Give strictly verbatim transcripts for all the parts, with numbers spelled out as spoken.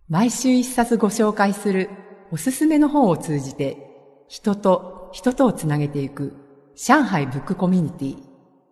毎週一冊ご紹介するおすすめの本を通じて人と人とをつなげていく上海ブックコミュニティ。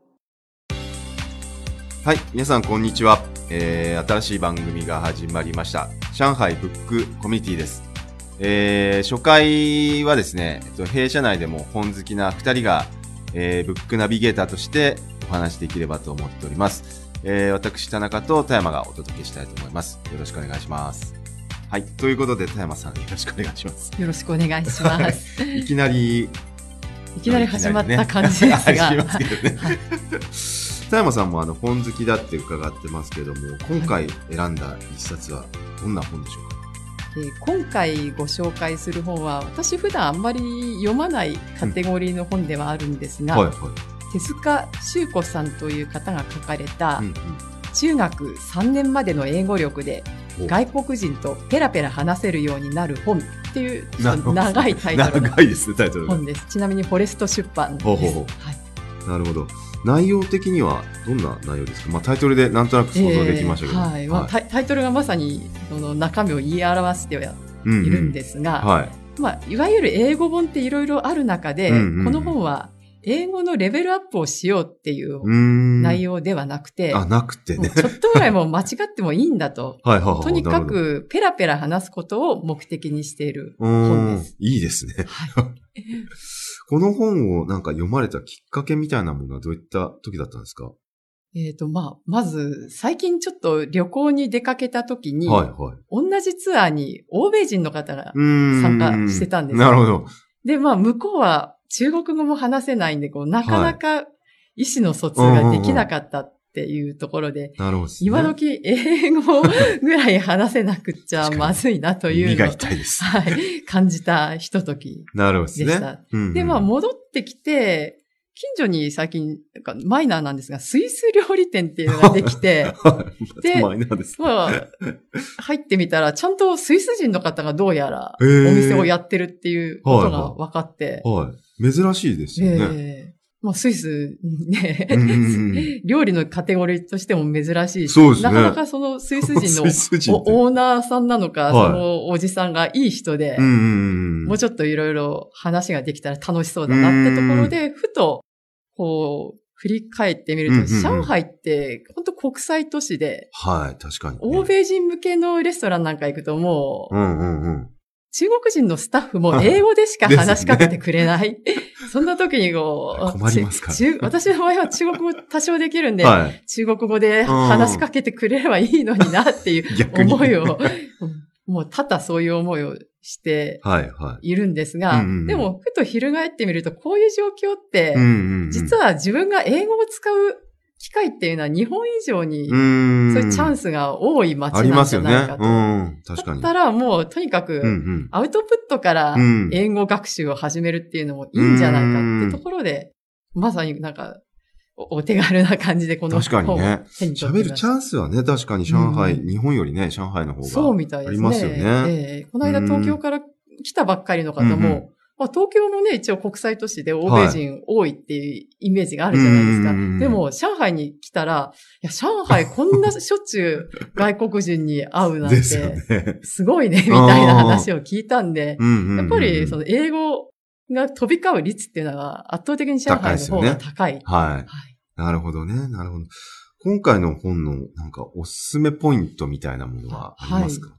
はい、皆さんこんにちは、えー、新しい番組が始まりました。上海ブックコミュニティです。えー、初回はですね、弊社内でも本好きなふたりが、えー、ブックナビゲーターとしてお話できればと思っております。えー、私田中と田山がお届けしたいと思います。よろしくお願いします。はい、ということで田山さんよろしくお願いします。 よろしくお願いします。 いきなりいきなり始まった感じですが、 ね、ますけどね。田山さんもあの本好きだって伺ってますけども、今回選んだ一冊はどんな本でしょうか？ えー、今回ご紹介する本は私普段あんまり読まないカテゴリーの本ではあるんですが、うんはいはい、手塚修子さんという方が書かれた、うんうん、中学さんねんまでの英語力で外国人とペラペラ話せるようになる本っていう長いタイトルの長いですね、タイトルが本です。ちなみにフォレスト出版です。ほうほうほう、はい、 なるほど。内容的にはどんな内容ですか？まあ、タイトルでなんとなく想像できましたけど、 えーはいまあ、タイ、タイトルがまさにその中身を言い表してはいるんですが、うんうんはいまあ、いわゆる英語本っていろいろある中で、うんうん、この本は英語のレベルアップをしようっていう内容ではなくて、 あ、なくてね。 ちょっとぐらいもう間違ってもいいんだと。はいはいはい、とにかくペラペラ話すことを目的にしている本です。 いいですね。はい、この本をなんか読まれたきっかけみたいなものはどういった時だったんですか？ えっと、まあ、まず、最近ちょっと旅行に出かけた時に、はいはい、同じツアーに欧米人の方が参加してたんです。 なるほど。 で、まあ、向こうは中国語も話せないんで、こう、なかなか意思の疎通ができなかったっていうところで、 なるほど、ね。 今時英語ぐらい話せなくっちゃまずいなというのを、 耳が痛いです。 はい、感じたひとときでした。 なるほどですね。 うんうん、で、まあ、戻ってきて、近所に最近、なんかマイナーなんですが、スイス料理店っていうのができて、 で、マイナーです、ね。 まあ、入ってみたら、ちゃんとスイス人の方がどうやらお店をやってるっていうことが分かって、 はいはいはい、珍しいですよね。 えーまあ、スイスね、うんうん、料理のカテゴリーとしても珍しいし、 そうですね、 なかなかそのスイス人のオーナーさんなのか、はい、そのおじさんがいい人で、うんうんうん、もうちょっといろいろ話ができたら楽しそうだなってところで、ふと、こう、振り返ってみると、うんうんうん、上海って本当国際都市で、 はい、確かに、ね。 欧米人向けのレストランなんか行くともう、 うんうんうん、 中国人のスタッフも英語でしか話しかけてくれない。そんな時にこう、 困りますか？ 私の場合は中国語多少できるんで、はい、中国語で話しかけてくれればいいのになっていう思いを、もう多々そういう思いをしているんですが、はいはいうんうん、でもふと翻ってみるとこういう状況って、うんうんうん、実は自分が英語を使う機会っていうのは日本以上にそういうチャンスが多い街なんじゃないかと。 ありますよね。うん、確かに。 だったらもうとにかくアウトプットから英語学習を始めるっていうのもいいんじゃないかってところで、まさになんかお手軽な感じでこの本を手に取ってます。確かにね。喋るチャンスはね、確かに上海、うん、日本よりね、上海の方がそうみたいですね。 ありますよね。 えー、この間東京から来たばっかりの方も、うんうんまあ、東京もね、一応国際都市で欧米人多いっていうイメージがあるじゃないですか。はい、でも、上海に来たら、いや、上海こんなしょっちゅう外国人に会うなんて、すごいね、みたいな話を聞いたんで、やっぱりその英語が飛び交う率っていうのは圧倒的に上海の方が高い。 高い、ね。はい。はい。なるほどね、なるほど。今回の本のなんかおすすめポイントみたいなものはありますか？はい、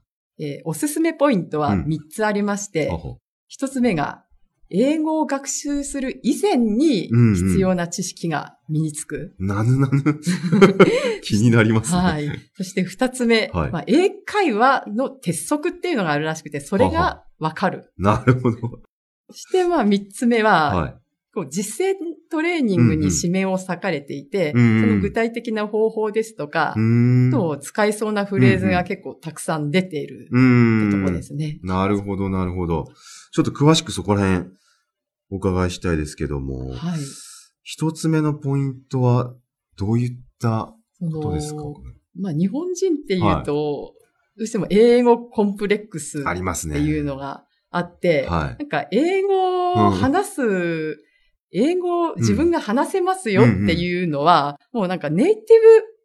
えー、おすすめポイントはみっつありまして、ひとつめが、英語を学習する以前に必要な知識が身につく。 うんうん、なぬなぬ気になりますね。 はい。そして二つ目、はいまあ、英会話の鉄則っていうのがあるらしくて、それがわかる。 なるほど。 そしてまあ三つ目は、はい、こう実践トレーニングに指名を割かれていて、うんうん、その具体的な方法ですとか、と使いそうなフレーズが結構たくさん出ているってとこですね。 なるほど、なるほど。ちょっと詳しくそこら辺お伺いしたいですけども、はい、一つ目のポイントはどういったことですか？ まあ日本人っていうと、はい、どうしても英語コンプレックスっていうのがあって、はい、なんか英語を話す、うん、英語を自分が話せますよっていうのは、うんうん、もうなんかネイティ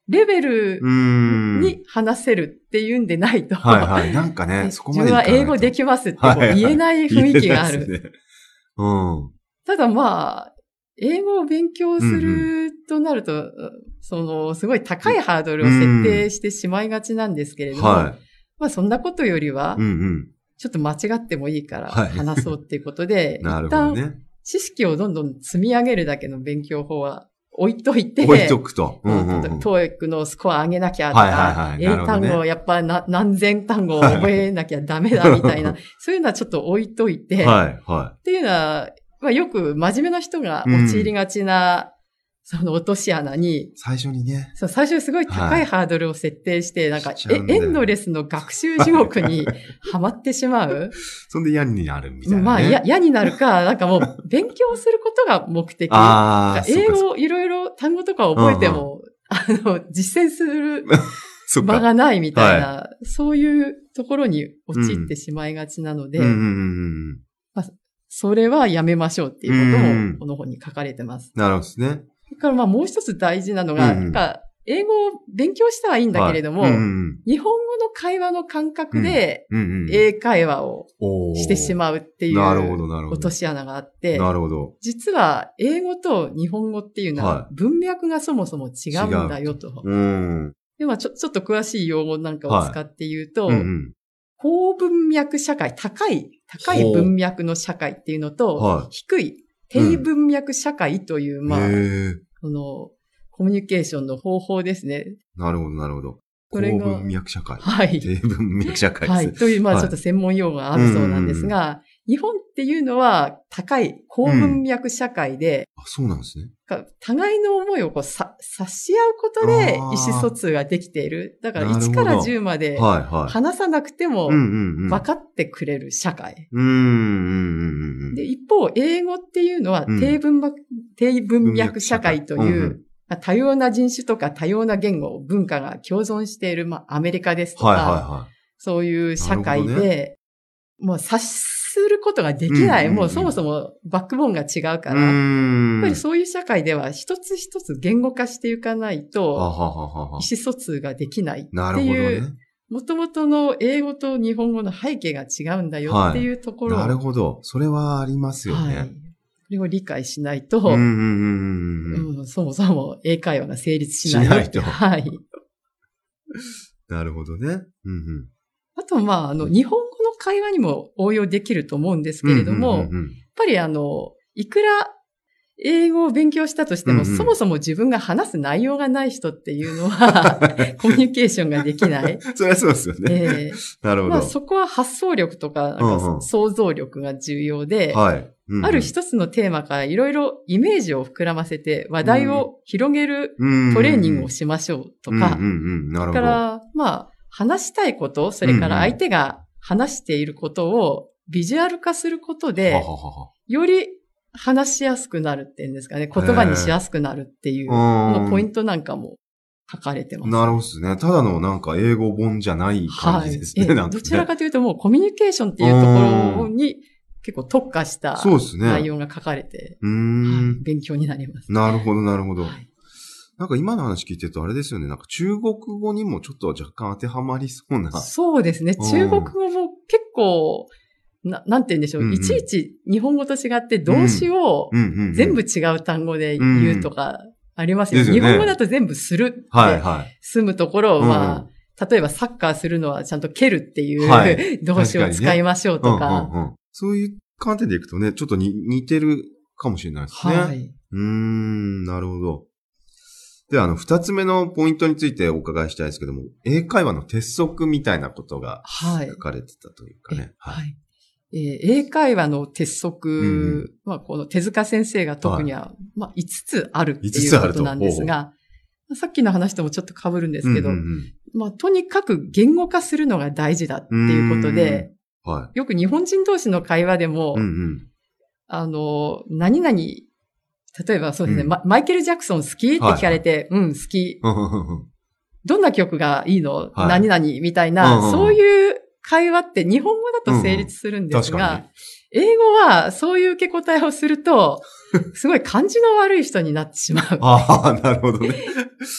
レベルに話せるっていうんでないと。 はいはい。なんかね、そこまで自分は英語できますってこう言えない雰囲気がある。 はいはい、ね、うん。 ただまあ、英語を勉強するとなると、うんうん、その、すごい高いハードルを設定してしまいがちなんですけれども、うん、はい、まあそんなことよりは、うんうん、ちょっと間違ってもいいから話そうっていうことで、はい、一旦知識をどんどん積み上げるだけの勉強法は置いといて、 置いとくと。うんうんうん、 トーイック のスコア上げなきゃとか、はいはいはい、英単語をやっぱな何千単語を覚えなきゃダメだみたいな、そういうのはちょっと置いといて、はいはい、っていうのは、まあ、よく真面目な人が陥りがちな、うん、その落とし穴に、 最初にね。 そう、最初にすごい高いハードルを設定して、はい、なんかえ、エンドレスの学習地獄にはまってしまう。 そんで嫌になるみたいな、ね。 まあ、嫌になるか、なんかもう勉強することが目的。あ英語をいろいろ単語とか覚えても、うんうん、あの、実践する場がないみたいな、はい、そういうところに陥ってしまいがちなので、まあそれはやめましょうっていうことも、この本に書かれてます。 なるほどですね。 それからまあもう一つ大事なのが、うんうん、なんか英語を勉強したはいいんだけれども、はいうんうん、日本語の会話の感覚で、英会話をしてしまうっていう落とし穴があって、 なるほど。 実は英語と日本語っていうのは文脈がそもそも違うんだよと。はい、うんではちょ、ちょっと詳しい用語なんかを使って言うと、はいうんうん高文脈社会、高い、高い文脈の社会っていうのと、はい、低い低文脈社会という、うん、まあ、この、コミュニケーションの方法ですね。 なるほど、なるほど。 これが高文脈社会。 はい。 低文脈社会ですね。 はい。という、まあ、ちょっと専門用語があるそうなんですが、はい、日本っていうのは高い高文脈社会で、 うん、あ、そうなんですね。 互いの思いをこうさ察し合うことで意思疎通ができている。だからいちからじゅうまで話さなくても分かってくれる社会。で、一方、英語っていうのは低文脈、うん、低文脈社会という、多様な人種とか多様な言語、文化が共存している、まあ、アメリカですとか、はいはいはい、そういう社会で、ね、もう察することができない、うんうんうん。もうそもそもバックボーンが違うから、やっぱりそういう社会では一つ一つ言語化していかないと、意思疎通ができないっていう、もともとの英語と日本語の背景が違うんだよっていうところ、 はい、なるほど。それはありますよね。はい、 これを理解しないと、うんうんうんうん、そもそも英会話が成立しない。 しないと。 はい。 なるほどね。うんうん、 あと、まあ、あの、日本語の会話にも応用できると思うんですけれども、うんうんうんうん、やっぱりあの、いくら英語を勉強したとしても、うんうん、そもそも自分が話す内容がない人っていうのは、コミュニケーションができない。 そりゃそうですよね。えー、なるほど。まあ、 そこは発想力とか、なんか想像力が重要で、うんうんはいうんうん、ある一つのテーマからいろいろイメージを膨らませて話題を広げるトレーニングをしましょうとか、それから、まあ、話したいこと、それから相手が話していることをビジュアル化することで、うんうん、より話しやすくなるっていうんですかね、言葉にしやすくなるっていうのポイントなんかも書かれてます。 なるほどですね。ただのなんか英語本じゃない感じですね。はい、なんかねどちらかというともうコミュニケーションっていうところに結構特化した内容が書かれて、うーん、はい、勉強になります。 なるほど、なるほど。はい、なんか今の話聞いてるとあれですよね。なんか中国語にもちょっと若干当てはまりそうな。 そうですね。中国語も結構、な、なんて言うんでしょう、うんうん。いちいち日本語と違って動詞を全部違う単語で言うとかありますよね。うんうんうん、日本語だと全部するって、はいはい、済むところを、まあ、例えばサッカーするのはちゃんと蹴るっていう、はい、動詞を使いましょうとか、ねうんうんうん。 そういう観点でいくとね、ちょっとに似てるかもしれないですね。はい。うーん、なるほど。では、あの、二つ目のポイントについてお伺いしたいですけども、英会話の鉄則みたいなことが書かれてたというかね。 はい。はいえー、英会話の鉄則、うん、まあ、この手塚先生が特には、はい、まあ、いつつあるっていうことなんですが、さっきの話ともちょっと被るんですけど、うんうんうん、まあ、とにかく言語化するのが大事だっていうことで、はい、よく日本人同士の会話でも、うんうん、あの、何々、例えばそうですね、うん、マイケル・ジャクソン好きって聞かれて、はいはい、うん、好き。どんな曲がいいの、はい、何々みたいな、うんうん、そういう会話って日本語だと成立するんですが、うんうん、英語はそういう受け答えをすると、すごい感じの悪い人になってしまう。 ああ、なるほどね。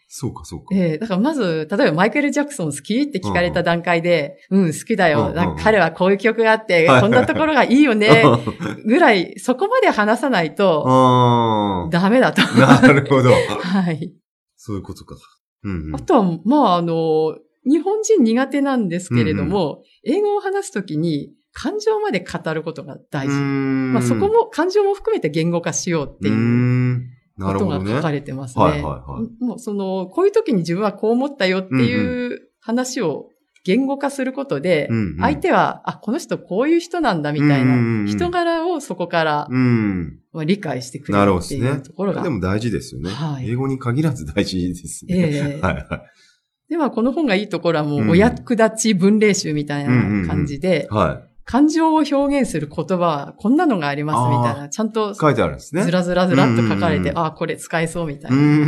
そうか、そうか。 ええー、だからまず、例えばマイケル・ジャクソン好きって聞かれた段階で、うん、うん、好きだよ。うんうんうん、なんか彼はこういう曲があって、こんなところがいいよね。ぐらい、そこまで話さないと、ダメだと。 なるほど。 はい。 そういうことか。うんうん、 あとは、まあ、あの、日本人苦手なんですけれども、うんうん、英語を話すときに感情まで語ることが大事。まあ、そこも、感情も含めて言語化しようっていう。ことが書かれてますね。ねはいはいはい。もうその、こういう時に自分はこう思ったよっていう話を言語化することで、うんうん、相手は、あ、この人こういう人なんだみたいな人柄をそこから、うんまあ、理解してくれるっていうところが。 なるほどですね。でも大事ですよね。はい。英語に限らず大事ですね。ええー、はいはい。 では、この本がいいところはもう、お役立ち文例集みたいな感じで、うんうんうん、はい。感情を表現する言葉はこんなのがありますみたいな、ちゃんと書いてあるんですね。 ずらずらずらっと書かれて、うんうんうん、ああ、これ使えそうみたいな、うんうん。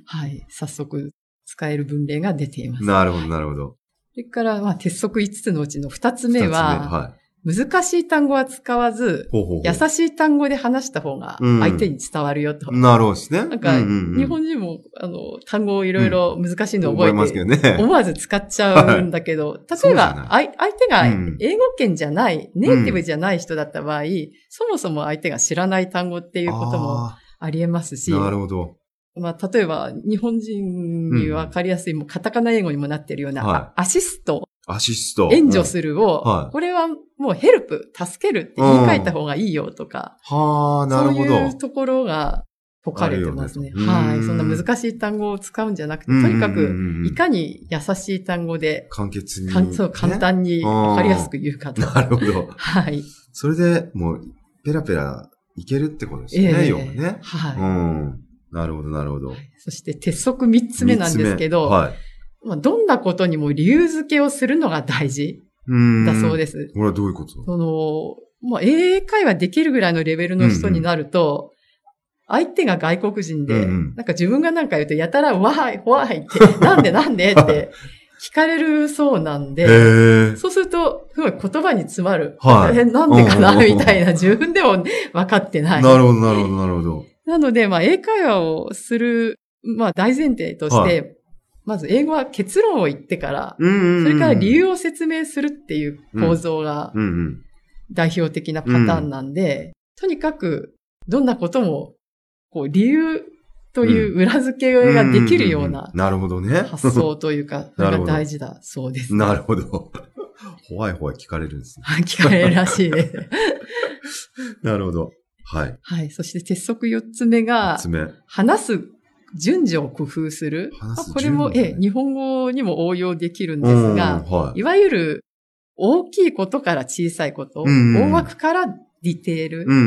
はい。早速使える文例が出ています。 なるほど、なるほど。 それから、まあ、鉄則いつつのうちのふたつめは、はい、難しい単語は使わずほうほうほう、優しい単語で話した方が相手に伝わるよと。 うん、なるほどですね。 なんか、うんうんうん、日本人も、あの、単語をいろいろ難しいのを覚えて、うん、覚えますけどね、思わず使っちゃうんだけど、はい、例えば、相手が英語圏じゃない、うん、ネイティブじゃない人だった場合、うん、そもそも相手が知らない単語っていうこともあり得ますし、 なるほど。 まあ、例えば、日本人にわかりやすい、もうカタカナ英語にもなってるような、はい、アシスト。 アシスト。 援助するを、はい、これはもうヘルプ、助けるって言い換えた方がいいよとか。 はあ、なるほど。 そういうところが説かれてますね。はい。そんな難しい単語を使うんじゃなくて、とにかく、いかに優しい単語で、 簡潔に、 ね。そう、簡単にわかりやすく言うかと。 なるほど。 はい。 それでもう、ペラペラいけるってことですね、えー、要はね。 はい。 うん。なるほど、なるほど。はい、 そして、鉄則みっつめなんですけど、はい。まあ、どんなことにも理由付けをするのが大事だそうです。 これはどういうこと？ その、まあ、英会話できるぐらいのレベルの人になると、うんうん、相手が外国人で、うんうん、なんか自分がなんか言うと、やたら、わーい、わーいって、なんでなんでって聞かれるそうなんで、そうすると、すごい言葉に詰まる。はい、え、なんでかなみたいな、自分でも分かってない。 なるほど、なるほど、なるほど。 なので、まあ、英会話をする、まあ、大前提として、はい、まず英語は結論を言ってから、うんうんうん、それから理由を説明するっていう構造が代表的なパターンなんで、うんうん、とにかくどんなこともこう理由という裏付けができるような発想というか、それが大事だそうです。 なるほど。ほわいほわい聞かれるんですね。 聞かれるらしいです。 なるほど。はい。 はい。そして鉄則よっつめが、話す順序を工夫する。これも、え、日本語にも応用できるんですが、はい、いわゆる大きいことから小さいこと、うんうん、大枠からディテール、うんうん、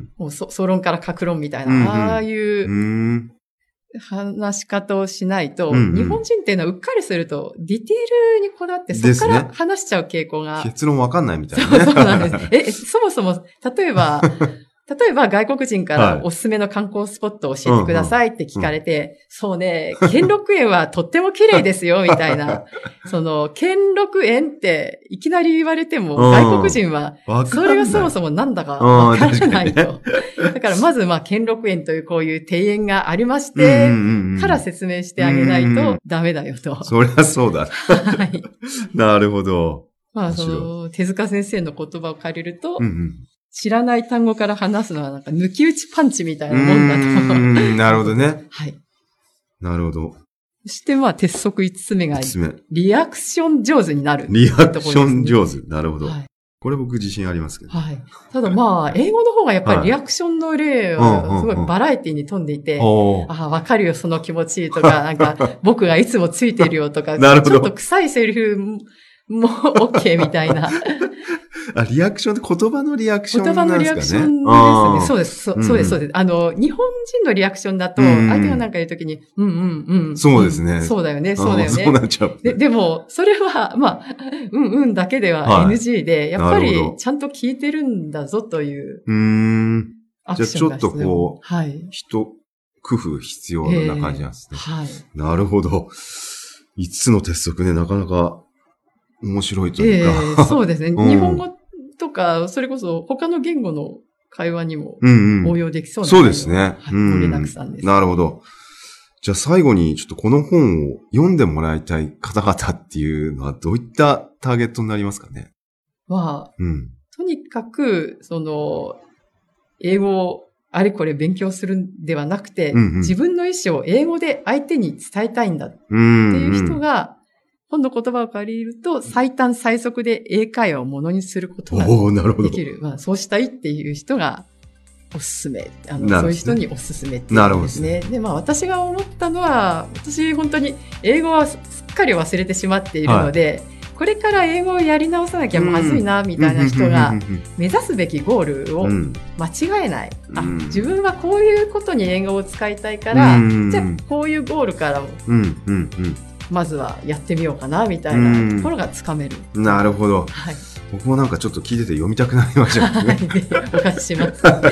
もう総論から各論みたいな、うんうん、ああいう話し方をしないと、うんうん、日本人っていうのはうっかりすると、ディテールにこだわってそこから話しちゃう傾向が。 ね、結論わかんないみたいな、ね。 そうそうなんです。え、そもそも、例えば、例えば外国人からおすすめの観光スポットを教えてくださいって聞かれて、はいうんうん、そうね、兼六園はとっても綺麗ですよ、みたいな。その、兼六園っていきなり言われても、外国人は、それがそもそもなんだかわからないと。だからまず、まあ、兼六園というこういう庭園がありまして、から説明してあげないとダメだよと。 そりゃそうだ。はい。なるほど。 まあ、その、手塚先生の言葉を借りると、うんうん知らない単語から話すのはなんか抜き打ちパンチみたいなもんだと。 うん、なるほどね。 はい。 なるほど。 そしてまあ鉄則いつつめが、リアクション上手になる、 ね。リアクション上手。なるほど。はい、これ僕自信ありますけど。 はい。ただまあ、英語の方がやっぱりリアクションの例はすごいバラエティに富んでいて、ああ、わかるよ、その気持ちとか、なんか僕がいつもついてるよとか、なるほどちょっと臭いセリフも OK みたいな。 あ、リアクションって言葉のリアクションなんですかね。言葉のリアクションですね。そうです。そ, そうです、そうです。あの、日本人のリアクションだと、相手が何か言うときに、うんうんうん。 そうですね。 そうだよね、そうだよね。 そうなっちゃう。 で, でも、それは、まあ、うんうんだけでは エヌジー で、はい、やっぱりちゃんと聞いてるんだぞという。 うーん。じゃあちょっとこう、はい。人、工夫必要な感じなんですね。 えー、はい。 なるほど。いつつの鉄則ね、なかなか面白いというか。 えー、そうですね。うん、日本語とか、それこそ他の言語の会話にも応用できそうな、 うんうん、そうですね。 はい、盛りだくさんです。 なるほど。 じゃあ最後にちょっとこの本を読んでもらいたい方々っていうのはどういったターゲットになりますかね？ まあ、 うん、 とにかく、その、英語をあれこれ勉強するんではなくて、うんうん、自分の意思を英語で相手に伝えたいんだっていう人が、本の言葉を借りると、最短最速で英会話をものにすることができる。まあ、そうしたいっていう人がおすすめ。あの、そういう人におすすめっていうんですね。で、まあ私が思ったのは、私本当に英語はすっかり忘れてしまっているので、はい、これから英語をやり直さなきゃまずいな、みたいな人が、目指すべきゴールを間違えない。うん、あ、自分はこういうことに英語を使いたいから、うん、じゃあこういうゴールから、うんうんうんまずはやってみようかなみたいなところがつかめる。 なるほど。はい。僕もなんかちょっと聞いてて読みたくなりましたね。 はい。お貸しします。はい、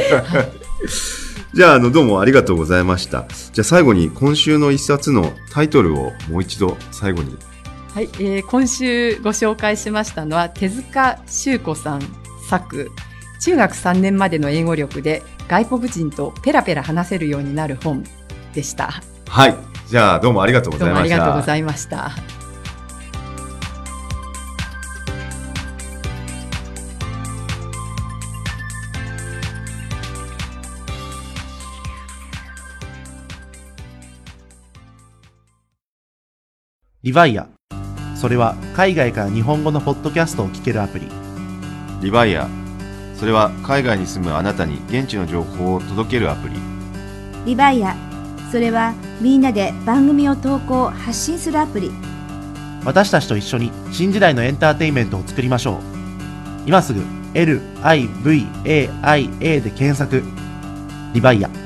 じゃあ、あの、どうもありがとうございました。じゃあ最後に今週の一冊のタイトルをもう一度最後に。 はい。えー、今週ご紹介しましたのは手塚修子さん作、中学さんねんまでの英語力で外国人とペラペラ話せるようになる本でした。 はい。じゃあどうもありがとうございました。どうもありがとうございました。 リバイア。それは海外から日本語のポッドキャストを聞けるアプリ。 リバイア。それは海外に住むあなたに現地の情報を届けるアプリ。 リバイア。それはみんなで番組を投稿発信するアプリ。 私たちと一緒に新時代のエンターテインメントを作りましょう。今すぐ エルアイブイエーアイエー で検索。リバイア。